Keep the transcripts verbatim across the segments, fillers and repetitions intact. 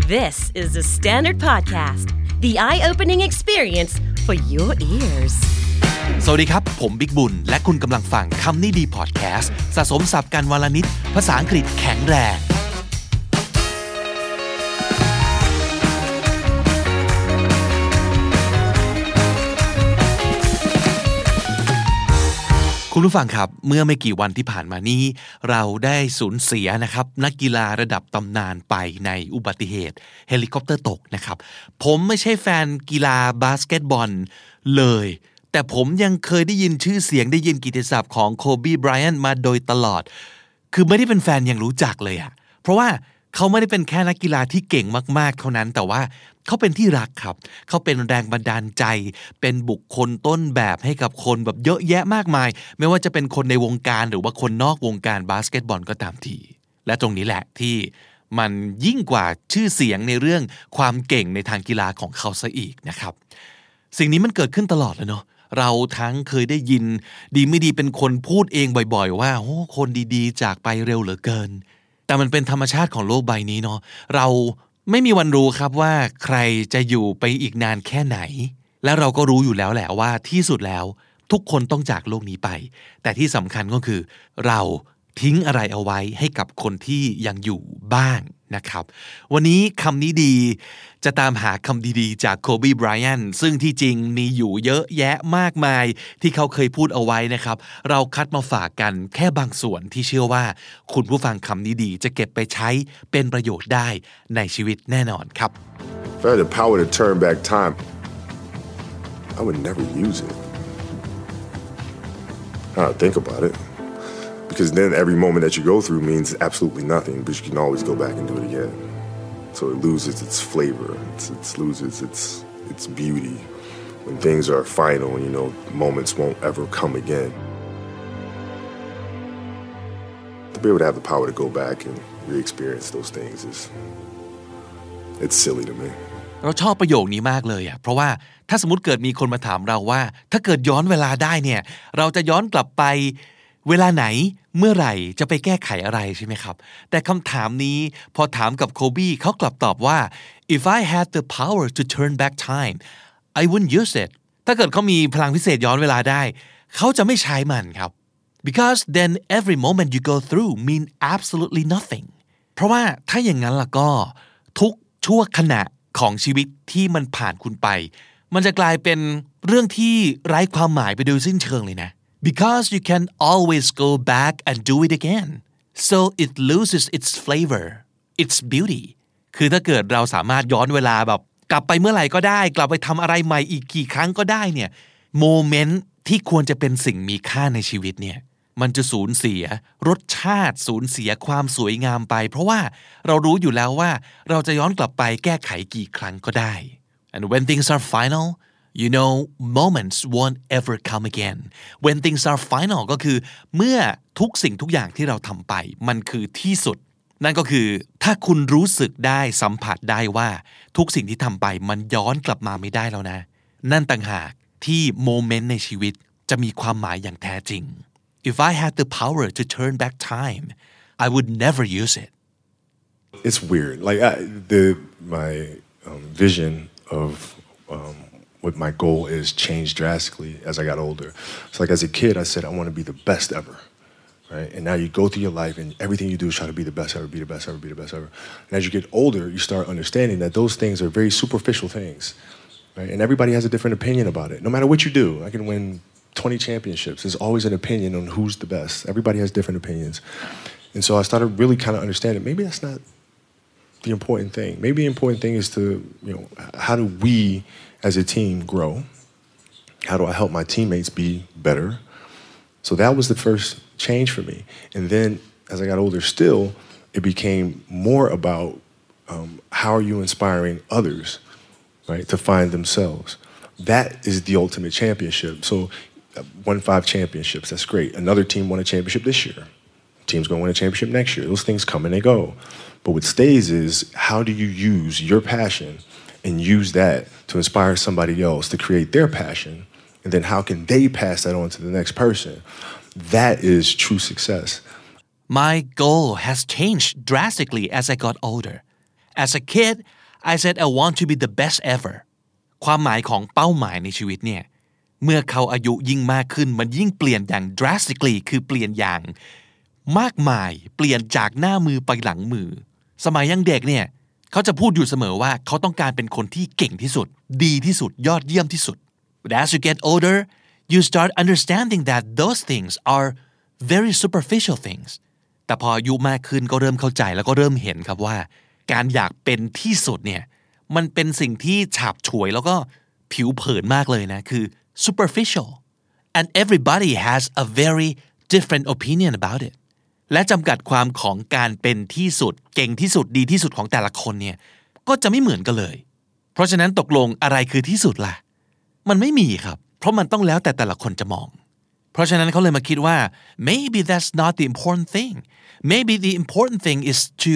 This is the Standard Podcast, the eye-opening experience for your ears. สวัสดีครับผมบิ๊กบุญและคุณกำลังฟังคำนี้ดีพอดแคสต์สะสมศัพท์กันวันละนิดภาษาอังกฤษแข็งแรงคุณผู้ฟังครับเมื่อไม่กี่วันที่ผ่านมานี้เราได้สูญเสียนะครับนักกีฬาระดับตำนานไปในอุบัติเหตุเฮลิคอปเตอร์ตกนะครับผมไม่ใช่แฟนกีฬาบาสเกตบอลเลยแต่ผมยังเคยได้ยินชื่อเสียงได้ยินกิตติศัพท์ของโคบีไบรอันต์มาโดยตลอดคือไม่ได้เป็นแฟนยังรู้จักเลยอะเพราะว่าเขาไม่ได้เป็นแค่นักกีฬาที่เก่งมากๆเท่านั้นแต่ว่าเขาเป็นที่รักครับเขาเป็นแรงบันดาลใจเป็นบุคคลต้นแบบให้กับคนแบบเยอะแยะมากมายไม่ว่าจะเป็นคนในวงการหรือว่าคนนอกวงการบาสเกตบอลก็ตามทีและตรงนี้แหละที่มันยิ่งกว่าชื่อเสียงในเรื่องความเก่งในทางกีฬาของเขาซะอีกนะครับสิ่งนี้มันเกิดขึ้นตลอดเลยเนาะเราทั้งเคยได้ยินดีไม่ดีเป็นคนพูดเองบ่อยๆว่าโอ้คนดีๆจากไปเร็วเหลือเกินแต่มันเป็นธรรมชาติของโลกใบนี้เนาะเราไม่มีวันรู้ครับว่าใครจะอยู่ไปอีกนานแค่ไหนและเราก็รู้อยู่แล้วแหละว่าที่สุดแล้วทุกคนต้องจากโลกนี้ไปแต่ที่สำคัญก็คือเราทิ้งอะไรเอาไว้ให้กับคนที่ยังอยู่บ้างนะครับวันนี้คำนี้ดีจะตามหาคำดีๆจากโคบีไบรอันต์ซึ่งที่จริงมีอยู่เยอะแยะมากมายที่เขาเคยพูดเอาไว้นะครับเราคัดมาฝากกันแค่บางส่วนที่เชื่อว่าคุณผู้ฟังคำนี้ดีจะเก็บไปใช้เป็นประโยชน์ได้ในชีวิตแน่นอนครับ If I had the power to turn back time, I would never use it. I don't think about it.Because then every moment that you go through means absolutely nothing, but you can always go back and do it again. So it loses its flavor, it's, it loses its its beauty. When things are final, you know, moments won't ever come again. To be able to have the power to go back and re-experience those things is, it's silly to me. เราชอบประโยคนี้มากเลยอ่ะเพราะว่าถ้าสมมุติเกิดมีคนมาถามเราว่าถ้าเกิดย้อนเวลาได้เนี่ยเราจะย้อนกลับไปเวลาไหนเมื่อไหร่จะไปแก้ไขอะไรใช่ไหมครับแต่คำถามนี้พอถามกับโคบี้เขากลับตอบว่า if I had the power to turn back time I wouldn't use it ถ้าเกิดเขามีพลังพิเศษย้อนเวลาได้เขาจะไม่ใช้มันครับ because then every moment you go through mean absolutely nothing เพราะว่าถ้าอย่างนั้นล่ะก็ทุกชั่วขณะของชีวิตที่มันผ่านคุณไปมันจะกลายเป็นเรื่องที่ไร้ความหมายไปโดยสิ้นเชิงเลยนะBecause you can always go back and do it again. So it loses its flavor, its beauty. คือถ้าเกิดเราสามารถย้อนเวลาแบบกลับไปเมื่อไหร่ก็ได้กลับไปทำอะไรใหม่อีกกี่ครั้งก็ได้เนี่ยโมเมนต์ที่ควรจะเป็นสิ่งมีค่าในชีวิตเนี่ยมันจะสูญเสียรสชาติสูญเสียความสวยงามไปเพราะว่าเรารู้อยู่แล้วว่าเราจะย้อนกลับไปแก้ไขกี่ครั้งก็ได้ And when things are final,You know, moments won't ever come again. When things are final ก็คือเมื่อทุกสิ่งทุกอย่างที่เราทำไปมันคือที่สุดนั่นก็คือถ้าคุณรู้สึกได้สัมผัสได้ว่าทุกสิ่งที่ทำไปมันย้อนกลับมาไม่ได้แล้วนะนั่นต่างหากที่โมเมนต์ในชีวิตจะมีความหมายอย่างแท้จริง If I had the power to turn back time, I would never use it. It's weird. Like I, the my um, vision of um,what my goal is changed drastically as I got older. So like as a kid, I said, I want to be the best ever, right? And now you go through your life and everything you do is try to be the best ever, be the best ever, be the best ever. And as you get older, you start understanding that those things are very superficial things, right? And everybody has a different opinion about it. No matter what you do, I can win twenty championships. There's always an opinion on who's the best. Everybody has different opinions. And so I started really kind of understanding maybe that's not the important thing. Maybe the important thing is to, you know, how do we as a team grow? How do I help my teammates be better? So that was the first change for me. And then as I got older still, it became more about um, how are you inspiring others, right, to find themselves. That is the ultimate championship. So uh, won five championships, that's great. Another team won a championship this year. Team's going to win a championship next year. Those things come and they go. But what stays is how do you use your passion and use that to inspire somebody else to create their passion, and then how can they pass that on to the next person? That is true success. My goal has changed drastically as I got older. As a kid, I said I want to be the best ever ความหมายของเป้าหมายในชีวิตเนี่ยเมื่อเขาอายุยิ่งมากขึ้นมันยิ่งเปลี่ยนอย่าง drastically คือเปลี่ยนอย่างมากมายเปลี่ยนจากหน้ามือไปหลังมือสมัยยังเด็กเนี่ยเขาจะพูดอยู่เสมอว่าเขาต้องการเป็นคนที่เก่งที่สุดดีที่สุดยอดเยี่ยมที่สุด But as you get older you start understanding that those things are very superficial things แต่พออายุมากขึ้นก็เริ่มเข้าใจแล้วก็เริ่มเห็นครับว่าการอยากเป็นที่สุดเนี่ยมันเป็นสิ่งที่ฉาบฉวยแล้วก็ผิวเผินมากเลยนะคือ superficial and everybody has a very different opinion about it และจำกัดความของการเป็นที่สุดเก่งที่สุดดีที่สุดของแต่ละคนเนี่ยก็จะไม่เหมือนกันเลยเพราะฉะนั้นตกลงอะไรคือที่สุดล่ะมันไม่มีครับเพราะมันต้องแล้วแต่แต่ละคนจะมองเพราะฉะนั้นเขาเลยมาคิดว่า maybe that's not the important thing maybe the important thing is to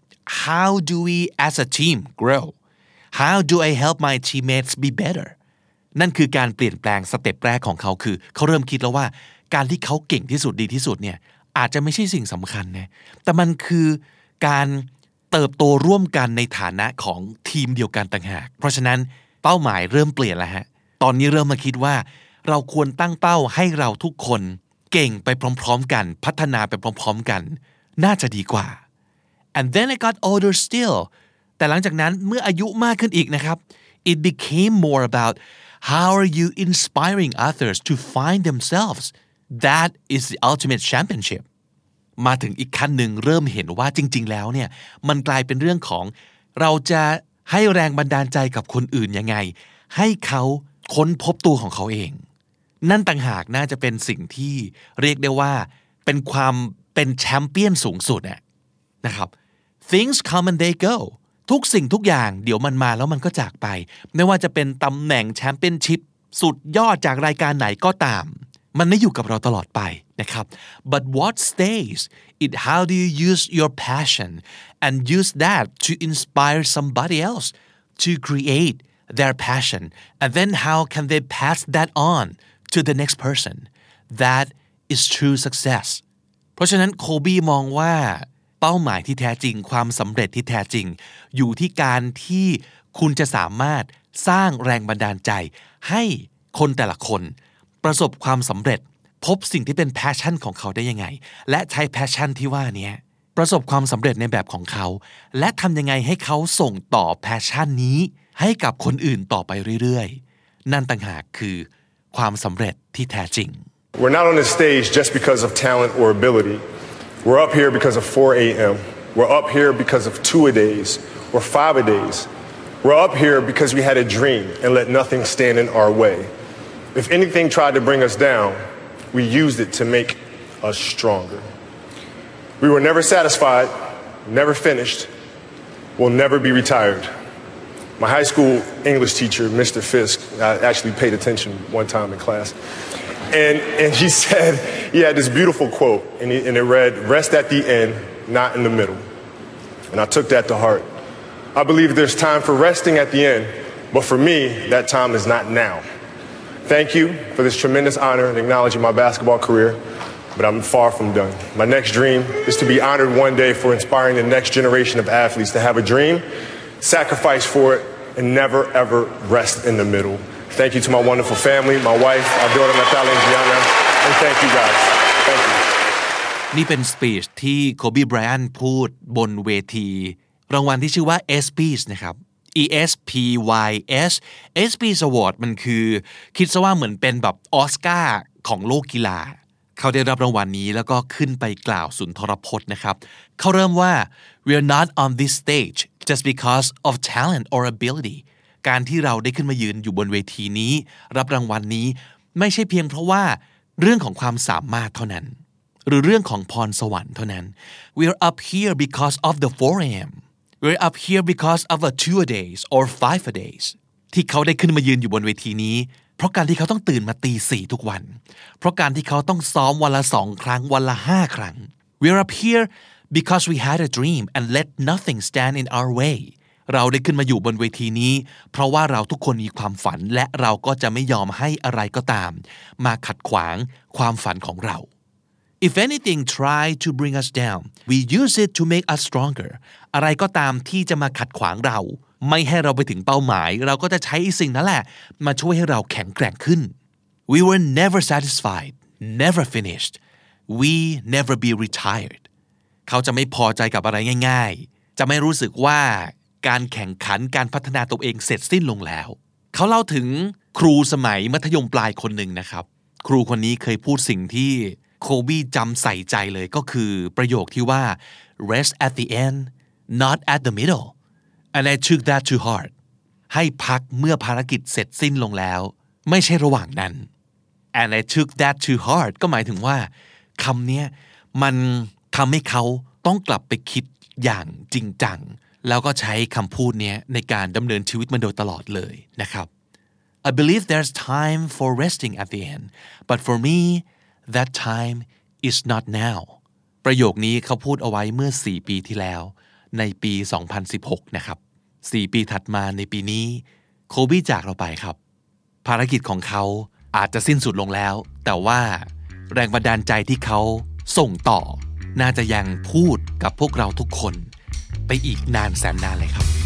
how do we as a team grow how do I help my teammates be better นั่นคือการเปลี่ยนแปลงสเต็ปแรกของเขาคือเขาเริ่มคิดแล้วว่าการที่เขาเก่งที่สุดดีที่สุดเนี่ยอาจจะไม่ใช่สิ่งสำคัญนะแต่มันคือการเติบโตร่วมกันในฐานะของทีมเดียวกันต่างหากเพราะฉะนั้นเป้าหมายเริ่มเปลี่ยนแล้วฮะตอนนี้เริ่มมาคิดว่าเราควรตั้งเป้าให้เราทุกคนเก่งไปพร้อมๆกันพัฒนาไปพร้อมๆกันน่าจะดีกว่า and then I got older still แต่หลังจากนั้นเมื่ออายุมากขึ้นอีกนะครับ it became more about how are you inspiring others to find themselves that is the ultimate championship มาถึงอีกขั้นหนึ่งเริ่มเห็นว่าจริงๆแล้วเนี่ยมันกลายเป็นเรื่องของเราจะให้แรงบันดาลใจกับคนอื่นยังไงให้เขาค้นพบตัวของเขาเองนั่นต่างหากน่าจะเป็นสิ่งที่เรียกได้ว่าเป็นความเป็นแชมเปี้ยนสูงสุดอะนะครับ things come and they go ทุกสิ่งทุกอย่างเดี๋ยวมันมาแล้วมันก็จากไปไม่ว่าจะเป็นตำแหน่งแชมเปี้ยนชิพสุดยอดจากรายการไหนก็ตามมันไม่อยู่กับเราตลอดไปนะครับ but what stays is how do you use your passion and use that to inspire somebody else to create their passion and then how can they pass that on to the next person that is true success เพราะฉะนั้นโคบี้มองว่าเป้าหมายที่แท้จริงความสำเร็จที่แท้จริงอยู่ที่การที่คุณจะสามารถสร้างแรงบันดาลใจให้คนแต่ละคนประสบความสำเร็จพบสิ่งที่เป็น passion ของเขาได้ยังไงและใช้ passion ที่ว่านี้ประสบความสำเร็จในแบบของเขาและทำยังไงให้เขาส่งต่อ passion นี้ให้กับคนอื่นต่อไปเรื่อยๆนั่นต่างหากคือความสำเร็จที่แท้จริง We're not on the stage just because of talent or ability. We're up here because of four a.m. We're up here because of two-a-days or five-a-days. We're up here because we had a dream and let nothing stand in our way. If anything tried to bring us down, we used it to make us stronger. We were never satisfied, never finished, will never be retired. My high school English teacher, Mister Fisk, I actually paid attention one time in class, and, and he said, he had this beautiful quote, and, he, and it read, rest at the end, not in the middle. And I took that to heart. I believe there's time for resting at the end, but for me, that time is not now. Thank you for this tremendous honor and acknowledging my basketball career, but I'm far from done. My next dream is to be honored one day for inspiring the next generation of athletes to have a dream, sacrifice for it, and never ever rest in the middle. Thank you to my wonderful family, my wife, our daughter Natalia and Gianna, and thank you guys. Thank you. นี่เป็นสปีชที่โคบีไบรอันพูดบนเวทีรางวัลที่ชื่อว่า เอส พี เอ เอส นะครับ E S P Y S เอส พี เอ เอส Award มันคือคิดซะว่าเหมือนเป็นแบบออสการ์ของโลกกีฬาเขาได้รับรางวัลนี้แล้วก็ขึ้นไปกล่าวสุนทรพจน์นะครับเขาเริ่มว่า we're not on this stage just because of talent or ability การที่เราได้ขึ้นมายืนอยู่บนเวทีนี้รับรางวัลนี้ไม่ใช่เพียงเพราะว่าเรื่องของความสามารถเท่านั้นหรือเรื่องของพรสวรรค์เท่านั้น we're up here because of the four a.m. we're up here because of a two-a-days or five-a-days ที่เขาได้ขึ้นมายืนอยู่บนเวทีนี้เพราะการที่เขาต้องตื่นมาตีสี่ทุกวันเพราะการที่เขาต้องซ้อมวันละสองครั้งวันละห้าครั้ง we're up here because we had a dream and let nothing stand in our way เราได้ขึ้นมาอยู่บนเวทีนี้เพราะว่าเราทุกคนมีความฝันและเราก็จะไม่ยอมให้อะไรก็ตามมาขัดขวางความฝันของเรา if anything try to bring us down we use it to make us stronger อะไรก็ตามที่จะมาขัดขวางเราไม่ให้เราไปถึงเป้าหมายเราก็จะใช้สิ่งนั้นแหละมาช่วยให้เราแข็งแกร่งขึ้น We were never satisfied never finished we never be retired เขาจะไม่พอใจกับอะไรง่ายๆจะไม่รู้สึกว่าการแข่งขันการพัฒนาตัวเองเสร็จสิ้นลงแล้วเขาเล่าถึงครูสมัยมัธยมปลายคนหนึ่งนะครับครูคนนี้เคยพูดสิ่งที่โคบี้จำใส่ใจเลยก็คือประโยคที่ว่า rest at the end not at the middle and I took that to heart ให้พักเมื่อภารกิจเสร็จสิ้นลงแล้วไม่ใช่ระหว่างนั้น and I took that to heart ก็หมายถึงว่าคำนี้มันทำให้เขาต้องกลับไปคิดอย่างจริงจังแล้วก็ใช้คำพูดนี้ในการดำเนินชีวิตมาโดยตลอดเลยนะครับ I believe there's time for resting at the end but for me that time is not now ประโยคนี้เขาพูดเอาไว้เมื่อสี่ปีที่แล้วในปีสองพันสิบหกนะครับสี่ปีถัดมาในปีนี้โคบี้จากเราไปครับภารกิจของเขาอาจจะสิ้นสุดลงแล้วแต่ว่าแรงบันดาลใจที่เขาส่งต่อน่าจะยังพูดกับพวกเราทุกคนไปอีกนานแสนนานเลยครับ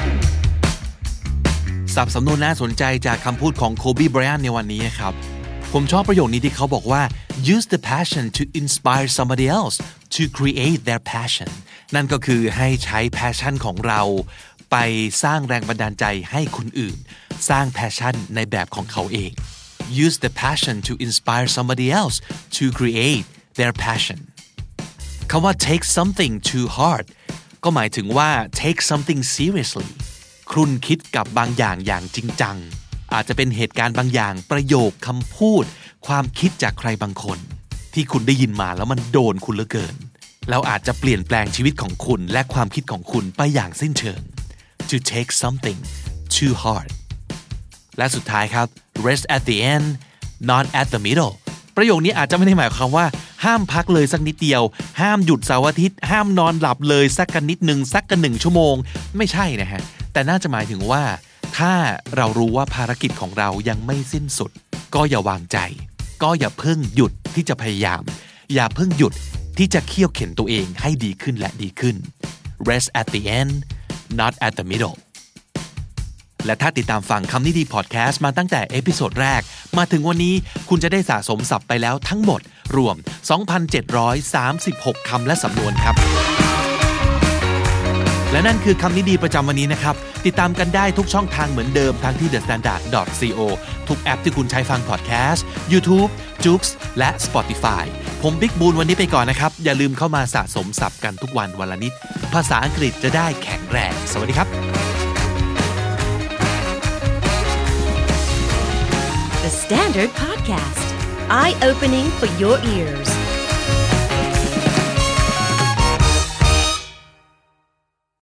ศัพท์สำนวนน่าสนใจจากคำพูดของโคบี้ไบรอันในวันนี้นะครับผมชอบประโยคนี้ที่เขาบอกว่า use the passion to inspire somebody else to create their passion นั่นก็คือให้ใช้ passion ของเราไปสร้างแรงบันดาลใจให้คนอื่นสร้าง passion ในแบบของเขาเอง use the passion to inspire somebody else to create their passion คำว่า take something too hard ก็หมายถึงว่า take something seriously ครุ่นคิดกับบางอย่างอย่างจริงจังอาจจะเป็นเหตุการณ์บางอย่างประโยคคำพูดความคิดจากใครบางคนที่คุณได้ยินมาแล้วมันโดนคุณเหลือเกินแล้วอาจจะเปลี่ยนแปลงชีวิตของคุณและความคิดของคุณไปอย่างสิ้นเชิง to take something too hard และสุดท้ายครับ rest at the end not at the middle ประโยคนี้อาจจะไม่ได้หมายความว่าห้ามพักเลยสักนิดเดียวห้ามหยุดเสาร์อาทิตย์ห้ามนอนหลับเลยสักกันนิดนึงสักกันหนึ่งชั่วโมงไม่ใช่นะฮะแต่น่าจะหมายถึงว่าถ้าเรารู้ว่าภารกิจของเรายังไม่สิ้นสุดก็อย่าวางใจก็อย่าเพิ่งหยุดที่จะพยายามอย่าเพิ่งหยุดที่จะเคี่ยวเข็นตัวเองให้ดีขึ้นและดีขึ้น rest at the end not at the middle และถ้าติดตามฟังคำนี้ดีพอดแคสต์มาตั้งแต่เอพิโซดแรกมาถึงวันนี้คุณจะได้สะสมศัพท์ไปแล้วทั้งหมดรวม สองพันเจ็ดร้อยสามสิบหก คำและสำนวนครับและนั่นคือคำนี้ดีประจำวันนี้นะครับติดตามกันได้ทุกช่องทางเหมือนเดิมทั้งที่ เดอะ สแตนดาร์ด ดอท ซี โอ ทุกแอปที่คุณใช้ฟังพอดแคสต์ YouTube, Joox และ Spotify ผมบิ๊กบูนวันนี้ไปก่อนนะครับอย่าลืมเข้ามาสะสมศัพท์กันทุกวันวันละนิดภาษาอังกฤษจะได้แข็งแรงสวัสดีครับ The Standard Podcast Eye Opening for Your Ears